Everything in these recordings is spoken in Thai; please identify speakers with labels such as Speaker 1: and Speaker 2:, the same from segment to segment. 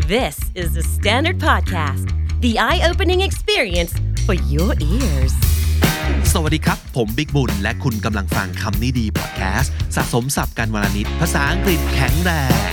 Speaker 1: This is the Standard Podcast, the eye-opening experience for your ears.
Speaker 2: สวัสดีครับผมบิ๊กบุญและคุณกำลังฟังคำนี้ดีพอดแคสต์สะสมศัพท์กันวลนิดภาษาอังกฤษแข็งแรง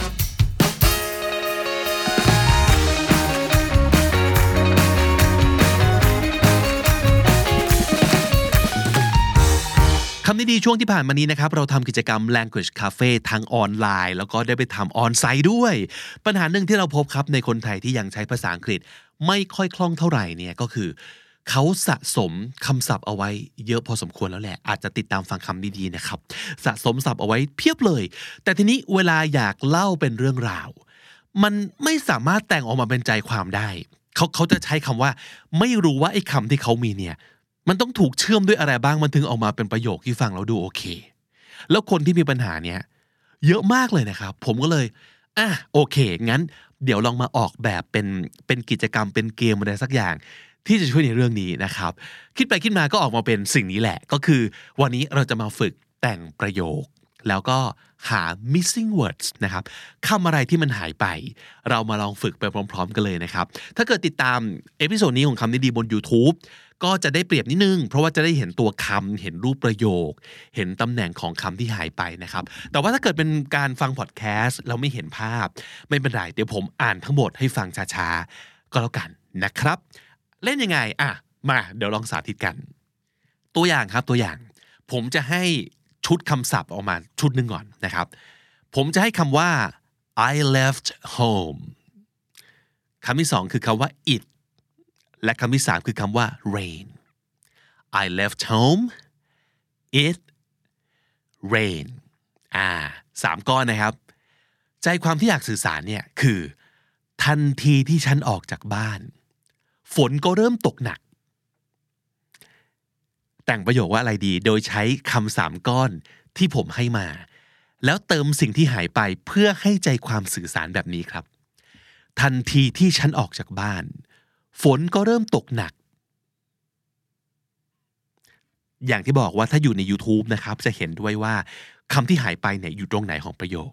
Speaker 2: คำนี้ดีช่วงที่ผ่านมานี้นะครับเราทำกิจกรรม Language Cafe ทั้งออนไลน์แล้วก็ได้ไปทำออนไซต์ด้วยปัญหาหนึ่งที่เราพบครับในคนไทยที่ยังใช้ภาษาอังกฤษไม่ค่อยคล่องเท่าไหร่เนี่ยก็คือเขาสะสมคำศัพท์เอาไว้เยอะพอสมควรแล้วแหละอาจจะติดตามฟังคำดีๆนะครับสะสมศัพท์เอาไว้เพียบเลยแต่ทีนี้เวลาอยากเล่าเป็นเรื่องราวมันไม่สามารถแต่งออกมาเป็นใจความได้เขาจะใช้คำว่าไม่รู้ว่าไอ้คำที่เขามีเนี่ยมันต้องถูกเชื่อมด้วยอะไรบ้างมันถึงออกมาเป็นประโยคที่ฟังแล้วดูโอเคแล้วคนที่มีปัญหาเนี้ยเยอะมากเลยนะครับผมก็เลยโอเคงั้นเดี๋ยวลองมาออกแบบเป็นกิจกรรมเป็นเกมอะไรสักอย่างที่จะช่วยในเรื่องนี้นะครับคิดไปคิดมาก็ออกมาเป็นสิ่งนี้แหละก็คือวันนี้เราจะมาฝึกแต่งประโยคแล้วก็หา missing words นะครับคำอะไรที่มันหายไปเรามาลองฝึกไปพร้อมๆกันเลยนะครับถ้าเกิดติดตามเอพิโซดนี้ของคำนี้ดีบน YouTube ก็จะได้เปรียบนิดนึงเพราะว่าจะได้เห็นตัวคำเห็นรูปประโยคเห็นตำแหน่งของคำที่หายไปนะครับแต่ว่าถ้าเกิดเป็นการฟังพอดแคสต์แล้วไม่เห็นภาพไม่เป็นไรเดี๋ยวผมอ่านทั้งหมดให้ฟังช้าๆก็แล้วกันนะครับเล่นยังไงมาเดี๋ยวลองสาธิตกันตัวอย่างครับตัวอย่างผมจะให้ชุดคำศัพท์ออกมาชุดหนึ่งก่อนนะครับผมจะให้คำว่า I left home คำที่สองคือคำว่า it และคำที่สามคือคำว่า rain I left home it rain สามก้อนนะครับใจความที่อยากสื่อสารเนี่ยคือทันทีที่ฉันออกจากบ้านฝนก็เริ่มตกหนักแต่งประโยคว่าอะไรดีโดยใช้คำสามก้อนที่ผมให้มาแล้วเติมสิ่งที่หายไปเพื่อให้ใจความสื่อสารแบบนี้ครับทันทีที่ฉันออกจากบ้านฝนก็เริ่มตกหนักอย่างที่บอกว่าถ้าอยู่ใน YouTube นะครับจะเห็นด้วยว่าคำที่หายไปเนี่ยอยู่ตรงไหนของประโยค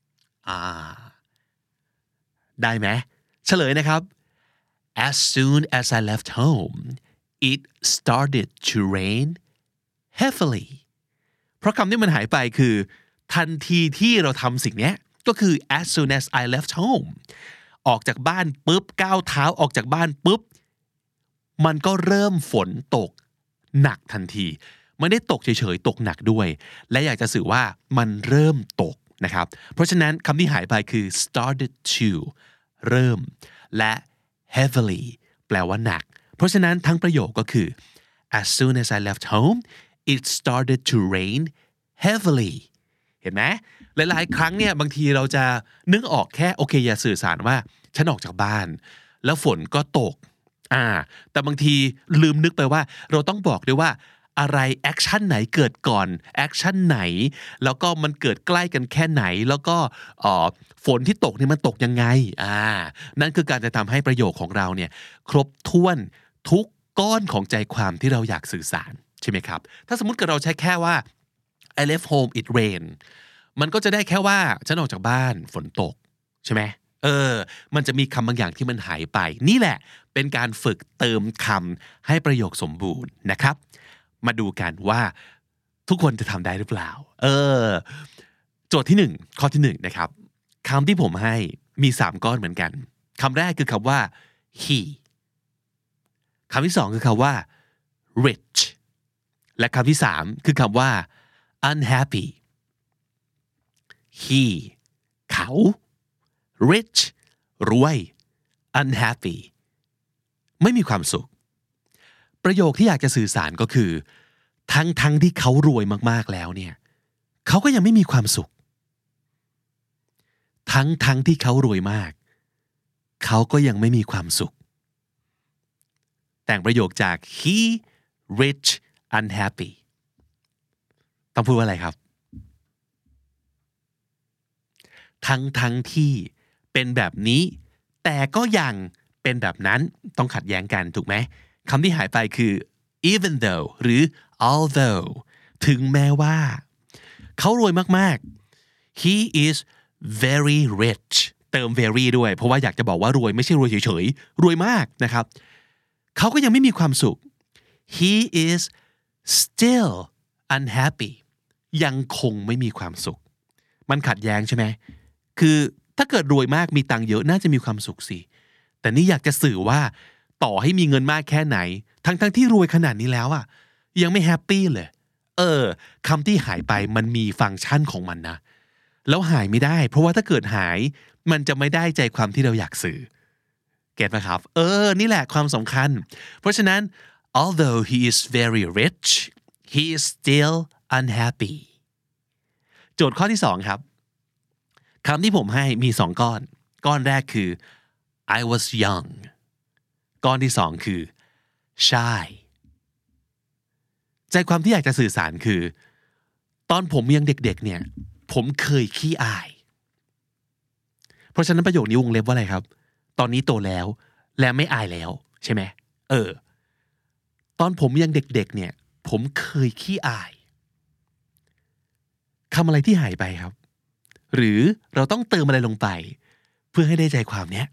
Speaker 2: ได้ไหมเฉลยนะครับ As soon as I left home it started to rain heavily เพราะคำที่มันหายไปคือทันทีที่เราทำสิ่งนี้ก็คือ as soon as I left home ออกจากบ้านปุ๊บก้าวเท้าออกจากบ้านปุ๊บมันก็เริ่มฝนตกหนักทันทีไม่ได้ตกเฉยๆตกหนักด้วยและอยากจะสื่อว่ามันเริ่มตกนะครับเพราะฉะนั้นคำที่หายไปคือ started to เริ่มและ heavily แปลว่าหนักเพราะฉะนั้นทั้งประโยคก็คือ as soon as I left home it started to rain heavily เห็นไหมหลายๆครั้งเนี่ยบางทีเราจะนึกออกแค่โอเคอย่าสื่อสารว่าฉันออกจากบ้านแล้วฝนก็ตกแต่บางทีลืมนึกไปว่าเราต้องบอกด้วยว่าอะไรแอคชั่นไหนเกิดก่อนแอคชั่นไหนแล้วก็มันเกิดใกล้กันแค่ไหนแล้วก็ฝนที่ตกนี่มันตกยังไงนั่นคือการจะทำให้ประโยคของเราเนี่ยครบถ้วนทุกก้อนของใจความที่เราอยากสื่อสารใช่ไหมครับถ้าสมมุติเกิดเราใช้แค่ว่า I left home it rain มันก็จะได้แค่ว่าฉันออกจากบ้านฝนตกใช่ไหมมันจะมีคำบางอย่างที่มันหายไปนี่แหละเป็นการฝึกเติมคำให้ประโยคสมบูรณ์นะครับมาดูกันว่าทุกคนจะทำได้หรือเปล่าโจทย์ที่1ข้อที่1นะครับคำที่ผมให้มี3ก้อนเหมือนกันคำแรกคือคำว่า he คำที่2คือคำว่า rich และคำที่3คือคำว่า unhappy he เขาrich รวย unhappy ไม่มีความสุขประโยคที่อยากจะสื่อสารก็คือทั้งที่เขารวยมากๆแล้วเนี่ยเขาก็ยังไม่มีความสุขทั้งที่เขารวยมากเขาก็ยังไม่มีความสุขแต่งประโยคจาก he rich unhappy ต้องพูดว่าอะไรครับทั้งที่เป็นแบบนี้แต่ก็ยังเป็นแบบนั้นต้องขัดแย้งกันถูกไหมคำที่หายไปคือ even though หรือ although ถึงแม้ว่าเขารวยมากๆ he is very rich เติม very ด้วยเพราะว่าอยากจะบอกว่ารวยไม่ใช่รวยเฉยๆรวยมากนะครับเขาก็ยังไม่มีความสุข he is still unhappy ยังคงไม่มีความสุขมันขัดแย้งใช่ไหมคือถ้าเกิดรวยมากมีตังค์เยอะน่าจะมีความสุขสิแต่นี่อยากจะสื่อว่าต่อให้มีเงินมากแค่ไหนทั้งที่รวยขนาดนี้แล้วอ่ะยังไม่แฮปปี้เลยคำที่หายไปมันมีฟังก์ชันของมันนะแล้วหายไม่ได้เพราะว่าถ้าเกิดหายมันจะไม่ได้ใจความที่เราอยากสื่อเก็ทไหมครับนี่แหละความสำคัญเพราะฉะนั้น although he is very rich he is still unhappy โจทย์ข้อที่สองครับคำที่ผมให้มีสองก้อนแรกคือ I was young ก้อนที่สองคือ shy ใจความที่อยากจะสื่อสารคือตอนผมยังเด็กๆเนี่ยผมเคยขี้อายเพราะฉะนั้นประโยคนี้วงเล็บว่าอะไรครับตอนนี้โตแล้วและไม่อายแล้วใช่ไหมตอนผมยังเด็กๆเนี่ยผมเคยขี้อายคำอะไรที่หายไปครับหรือเราต้องเติมอะไรลงไปเพื่อให้ได้ใจความเนี้ย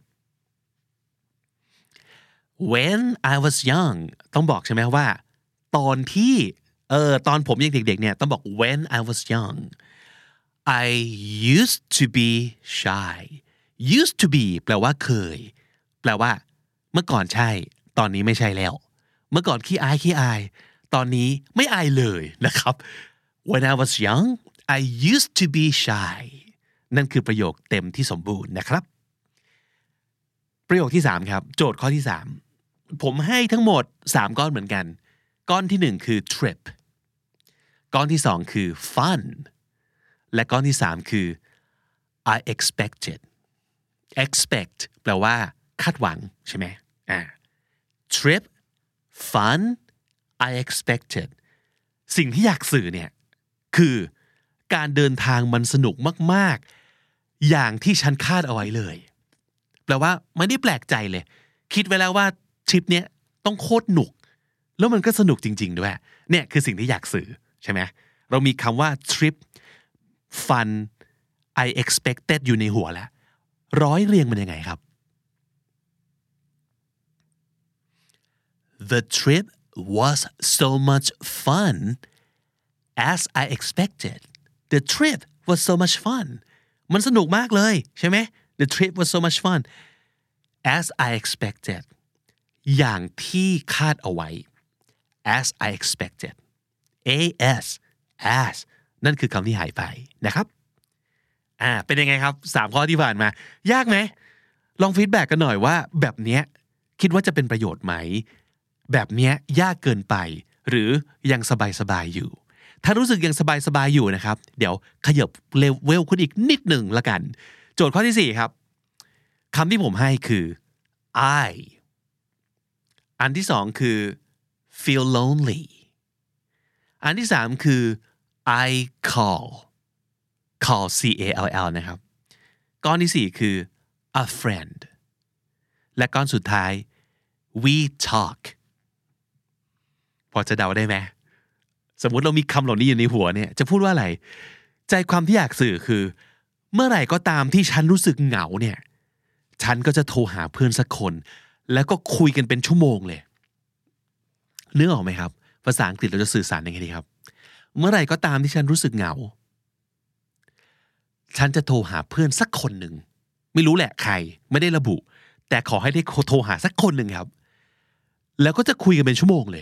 Speaker 2: When I was young ต้องบอกใช่ไหมว่าตอนที่ตอนผมยังเด็กๆเนี่ยต้องบอก When I was young I used to be shy used to be แปลว่าเคยแปลว่าเมื่อก่อนใช่ตอนนี้ไม่ใช่แล้วเมื่อก่อนขี้อายตอนนี้ไม่อายเลยนะครับ When I was young I used to be shy นั่นคือประโยคเต็มที่สมบูรณ์นะครับประโยคที่3ครับโจทย์ข้อที่3ผมให้ทั้งหมด3ก้อนเหมือนกันก้อนที่1คือ trip ก้อนที่2คือ fun และก้อนที่3คือ I expected expect แปลว่าคาดหวังใช่ไหมtrip fun I expected สิ่งที่อยากสื่อเนี่ยคือการเดินทางมันสนุกมากๆอย่างที่ฉันคาดเอาไว้เลยแปลว่าไม่ได้แปลกใจเลยคิดไว้แล้วว่าทริปเนี้ยต้องโคตรหนุกแล้วมันก็สนุกจริงๆด้วยเนี่ยคือสิ่งที่อยากสื่อใช่ไหมเรามีคำว่า trip fun I expected อยู่ในหัวแล้วร้อยเรียงมันยังไงครับ The trip was so much fun as I expected The trip was so much fun มันสนุกมากเลยใช่ไหม The trip was so much fun as I expected อย่างที่คาดเอาไว้ as I expected as นั่นคือคำที่หายไปนะครับเป็นยังไงครับ3ข้อที่ผ่านมายากไหมลองฟีดแบ็กกันหน่อยว่าแบบเนี้ยคิดว่าจะเป็นประโยชน์ไหมแบบเนี้ยยากเกินไปหรือยังสบายๆอยู่ถ้ารู้สึกยังสบายๆอยู่นะครับเดี๋ยวขยับเลเวลขึ้นอีกนิดหนึ่งละกันโจทย์ข้อที่4ครับคำที่ผมให้คือ I อันที่2คือ feel lonely อันที่3คือ I call C-A-L-L นะครับก้อนที่4คือ a friend และก้อนสุดท้าย we talk พอจะเดาได้ไหมสมมุติเรามีคำเหล่านี้อยู่ในหัวเนี่ยจะพูดว่าอะไรใจความที่อยากสื่อคือเมื่อไหร่ก็ตามที่ฉันรู้สึกเหงาเนี่ยฉันก็จะโทรหาเพื่อนสักคนแล้วก็คุยกันเป็นชั่วโมงเลยนึกออกไหมครับภาษาอังกฤษเราจะสื่อสารยังไงดีครับเมื่อไหร่ก็ตามที่ฉันรู้สึกเหงาฉันจะโทรหาเพื่อนสักคนหนึ่งไม่รู้แหละใครไม่ได้ระบุแต่ขอให้ได้โทรหาสักคนหนึ่งครับแล้วก็จะคุยกันเป็นชั่วโมงเลย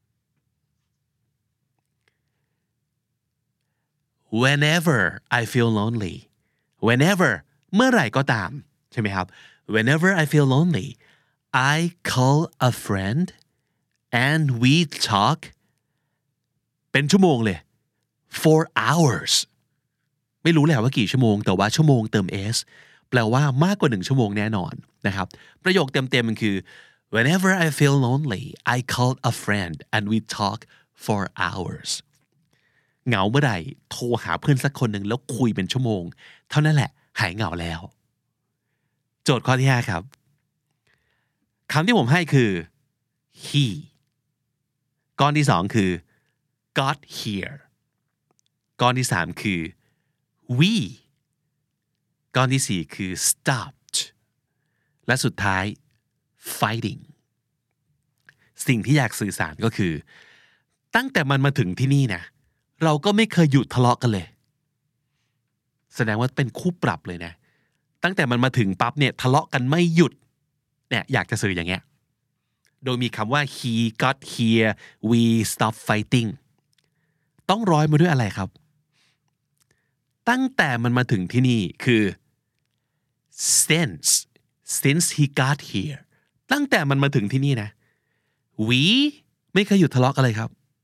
Speaker 2: Whenever I feel lonely Whenever เมื่อไหร่ก็ตามใช่ไหมครับ Whenever I feel lonely I call a friend and we talk เป็นชั่วโมงเลย for hoursไม่รู้แหละว่ากี่ชั่วโมงแต่ว่าชั่วโมงเติม s แปลว่ามากกว่า1ชั่วโมงแน่นอนนะครับประโยคเต็มๆมันคือ Whenever I feel lonely I call a friend and we talk for hours เหงาเมื่อไหร่โทรหาเพื่อนสักคนหนึ่งแล้วคุยเป็นชั่วโมงเท่านั้นแหละหายเหงาแล้วโจทย์ข้อที่5ครับคำที่ผมให้คือ he ก้อนที่2คือ got here ก้อนที่3คือ we ก้อนที่สี่คือ stopped และสุดท้าย fighting สิ่งที่อยากสื่อสารก็คือตั้งแต่มันมาถึงที่นี่นะเราก็ไม่เคยหยุดทะเลาะกันเลยแสดงว่าเป็นคู่ปรับเลยนะตั้งแต่มันมาถึงปั๊บเนี่ยทะเลาะกันไม่หยุดเนี่ยอยากจะสื่ออย่างเงี้ยโดยมีคำว่า he got here we stop fighting ต้องร้อยมาด้วยอะไรครับตั้งแต่มันมาถึงที่นี่คือ since he got here ตั้งแต่มันมาถึงที่นี่นะ we ไม่เคยหยุดทะเลาะกันเลยครับ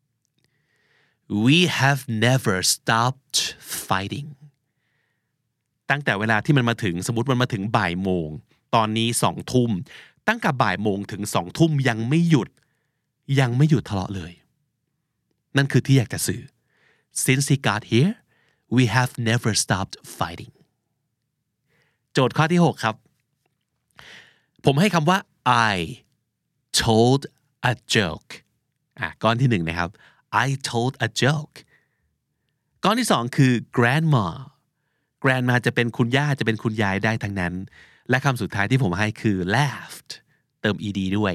Speaker 2: we have never stopped fighting ตั้งแต่เวลาที่มันมาถึงสมมุติมันมาถึงบ่ายโมงตอนนี้2 ทุ่มตั้งแต่บ่ายโมงถึง2 ทุ่มยังไม่หยุดทะเลาะเลยนั่นคือที่อยากจะสื่อ since he got here we have never stopped fighting โจทย์ข้อที่6ครับผมให้คำว่า I told a joke ก้อนที่1นะครับ I told a joke ก้อนที่2คือ grandma จะเป็นคุณย่าจะเป็นคุณยายได้ทั้งนั้นและคำสุดท้ายที่ผมให้คือ laughed เติม ed ด้วย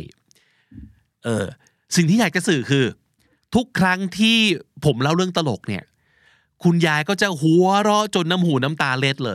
Speaker 2: สิ่งที่อยากจะสื่อคือทุกครั้งที่ผมเล่าเรื่องตลกเนี่ยคุณยายก็จะหัวเราะจนน้ำหูน้ำตาเล็ดเลย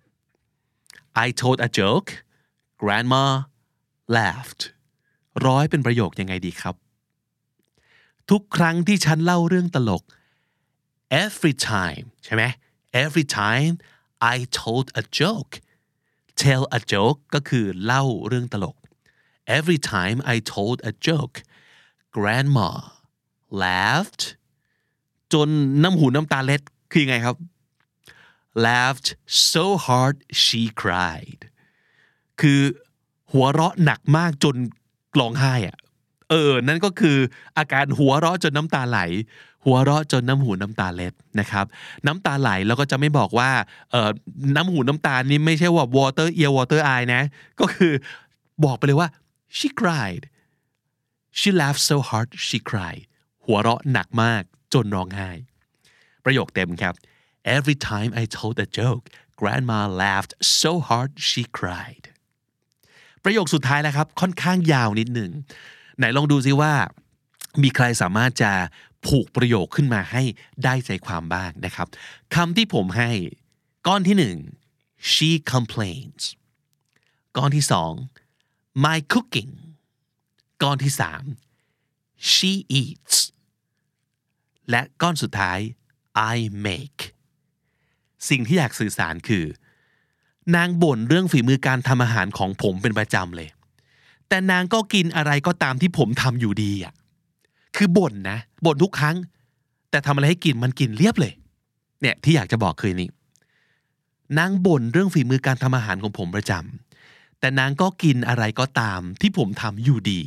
Speaker 2: I told a joke grandma laughed ร้อยเป็นประโยคยังไงดีครับทุกครั้งที่ฉันเล่าเรื่องตลก every time ใช่ไหม every time I told a joke tell a joke ก็คือเล่าเรื่องตลก every time I told a joke grandma laughed จนน้ำหูน้ำตาเล็ดคือยังไงครับ laughed so hard she cried คือหัวเราะหนักมากจนร้องไห้อ่ะนั่นก็คืออาการหัวเราะจนน้ำตาไหลหัวเราะจนน้ำหูน้ำตาเล็ดนะครับน้ำตาไหลแล้วก็จะไม่บอกว่าน้ำหูน้ำตานี่ไม่ใช่ว่า water ear water eye นะก็คือบอกไปเลยว่า she cried she laughed so hard she cried หัวเราะหนักมากจนร้องไห้ประโยคเต็มครับ every time I told a joke grandma laughed so hard she cried ประโยคสุดท้ายนะครับค่อนข้างยาวนิดหนึ่งไหนลองดูซิว่ามีใครสามารถจะผูกประโยคขึ้นมาให้ได้ใจความบ้างนะครับคำที่ผมให้ก้อนที่1 she complains ก้อนที่2 my cooking ก้อนที่3 she eats และก้อนสุดท้าย I make สิ่งที่อยากสื่อสารคือนางบ่นเรื่องฝีมือการทำอาหารของผมเป็นประจำเลยแต่นางก็กินอะไรก็ตามที่ผมทำอยู่ดีอ่ะคือบ่นทุกครั้งแต่ทำอะไรให้กินมันกินเรียบเลยเนี่ยที่อยากจะบอกคือนี้นางบ่นเรื่องฝีมือการทำอาหารของผมประจำแต่นางก็กินอะไรก็ตามที่ผมทำอยู่ดี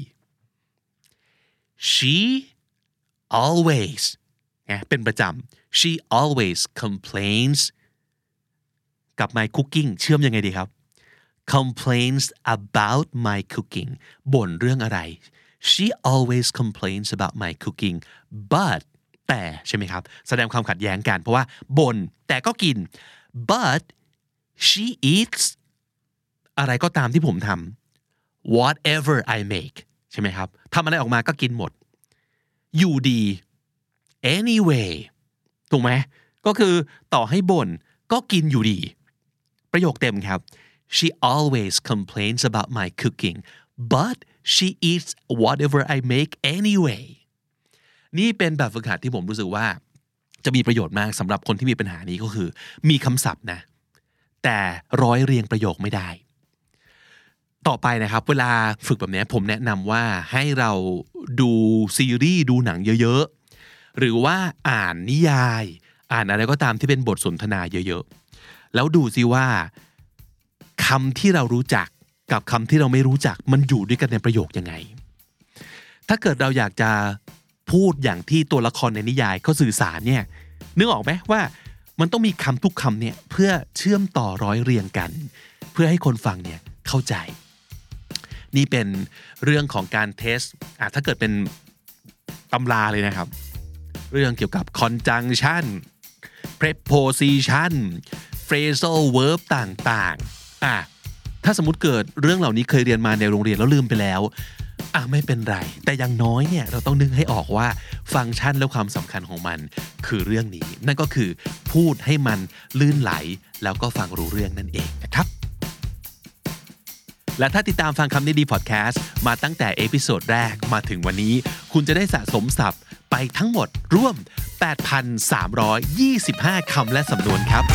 Speaker 2: she always เป็นประจำ she always complains กับ my cooking เชื่อมยังไงดีครับ complains about my cooking บ่นเรื่องอะไร she always complains about my cooking but แต่ใช่ไหมครับแสดงความขัดแย้งกันเพราะว่าบ่นแต่ก็กิน but she eats อะไรก็ตามที่ผมทำ whatever I make ใช่ไหมครับทำอะไรออกมาก็กินหมดอยู่ดี anyway ถูกไหมก็คือต่อให้บ่นก็กินอยู่ดีประโยคเต็มครับ she always complains about my cooking but she eats whatever I make anyway นี่เป็นแบบฝึกหัดที่ผมรู้สึกว่าจะมีประโยชน์มากสำหรับคนที่มีปัญหานี้ก็คือมีคำศัพท์นะแต่ร้อยเรียงประโยคไม่ได้ต่อไปนะครับเวลาฝึกแบบนี้ผมแนะนำว่าให้เราดูซีรีส์ดูหนังเยอะๆหรือว่าอ่านนิยายอ่านอะไรก็ตามที่เป็นบทสนทนาเยอะๆแล้วดูซิว่าคำที่เรารู้จักกับคำที่เราไม่รู้จักมันอยู่ด้วยกันในประโยคยังไงถ้าเกิดเราอยากจะพูดอย่างที่ตัวละครในนิยายเขาสื่อสารเนี่ยนึกออกไหมว่ามันต้องมีคำทุกคำเนี่ยเพื่อเชื่อมต่อร้อยเรียงกันเพื่อให้คนฟังเนี่ยเข้าใจนี่เป็นเรื่องของการเทสถ้าเกิดเป็นตำราเลยนะครับเรื่องเกี่ยวกับ conjunction preposition phrasal verb ต่างๆถ้าสมมุติเกิดเรื่องเหล่านี้เคยเรียนมาในโรงเรียนแล้วลืมไปแล้วไม่เป็นไรแต่อย่างน้อยเนี่ยเราต้องนึกให้ออกว่าฟังก์ชันและความสำคัญของมันคือเรื่องนี้นั่นก็คือพูดให้มันลื่นไหลแล้วก็ฟังรู้เรื่องนั่นเองนะครับและถ้าติดตามฟังคำนี้ดีพอดแคสต์มาตั้งแต่เอพิโซดแรกมาถึงวันนี้คุณจะได้สะสมศัพท์ไปทั้งหมดร่วม 8,325 คำและสำนวนครับ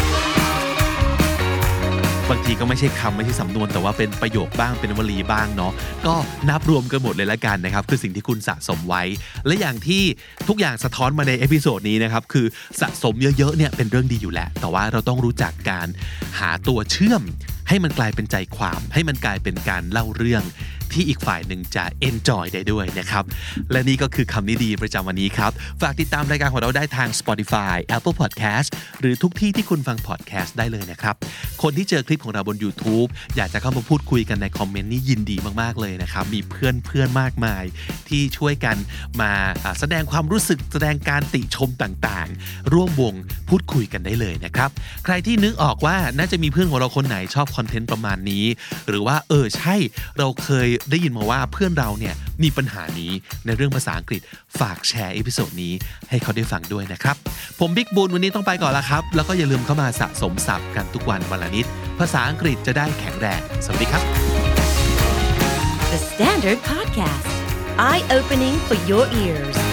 Speaker 2: บางทีก็ไม่ใช่คำไม่ใช่สำนวนแต่ว่าเป็นประโยคบ้างเป็นวลีบ้างเนาะก็นับรวมกันหมดเลยละกันนะครับคือสิ่งที่คุณสะสมไว้และอย่างที่ทุกอย่างสะท้อนมาในเอพิโซดนี้นะครับคือสะสมเยอะๆเนี่ยเป็นเรื่องดีอยู่แล้วแต่ว่าเราต้องรู้จักการหาตัวเชื่อมให้มันกลายเป็นใจความให้มันกลายเป็นการเล่าเรื่องที่อีกฝ่ายหนึ่งจะ enjoy ได้ด้วยนะครับและนี่ก็คือคำนี้ดีประจำวันนี้ครับฝากติดตามรายการของเราได้ทาง Spotify Apple Podcast หรือทุกที่ที่คุณฟัง podcast ได้เลยนะครับคนที่เจอคลิปของเราบน YouTube อยากจะเข้ามาพูดคุยกันในคอมเมนต์นี่ยินดีมากๆเลยนะครับมีเพื่อนมากมายที่ช่วยกันมาแสดงความรู้สึกแสดงการติชมต่างๆร่วมวงพูดคุยกันได้เลยนะครับใครที่นึกออกว่าน่าจะมีเพื่อนของเราคนไหนชอบคอนเทนต์ประมาณนี้หรือว่าใช่เราเคยได้ยินมาว่าเพื่อนเราเนี่ยมีปัญหานี้ในเรื่องภาษาอังกฤษฝากแชร์เอพิโซดนี้ให้เขาได้ฟังด้วยนะครับผมบิ๊กบูนวันนี้ต้องไปก่อนละครับแล้วก็อย่าลืมเข้ามาสะสมศัพท์กันทุกวันวันละนิดภาษาอังกฤษจะได้แข็งแรงสวัสดีครับ
Speaker 1: The Standard Podcast Eye Opening for Your Ears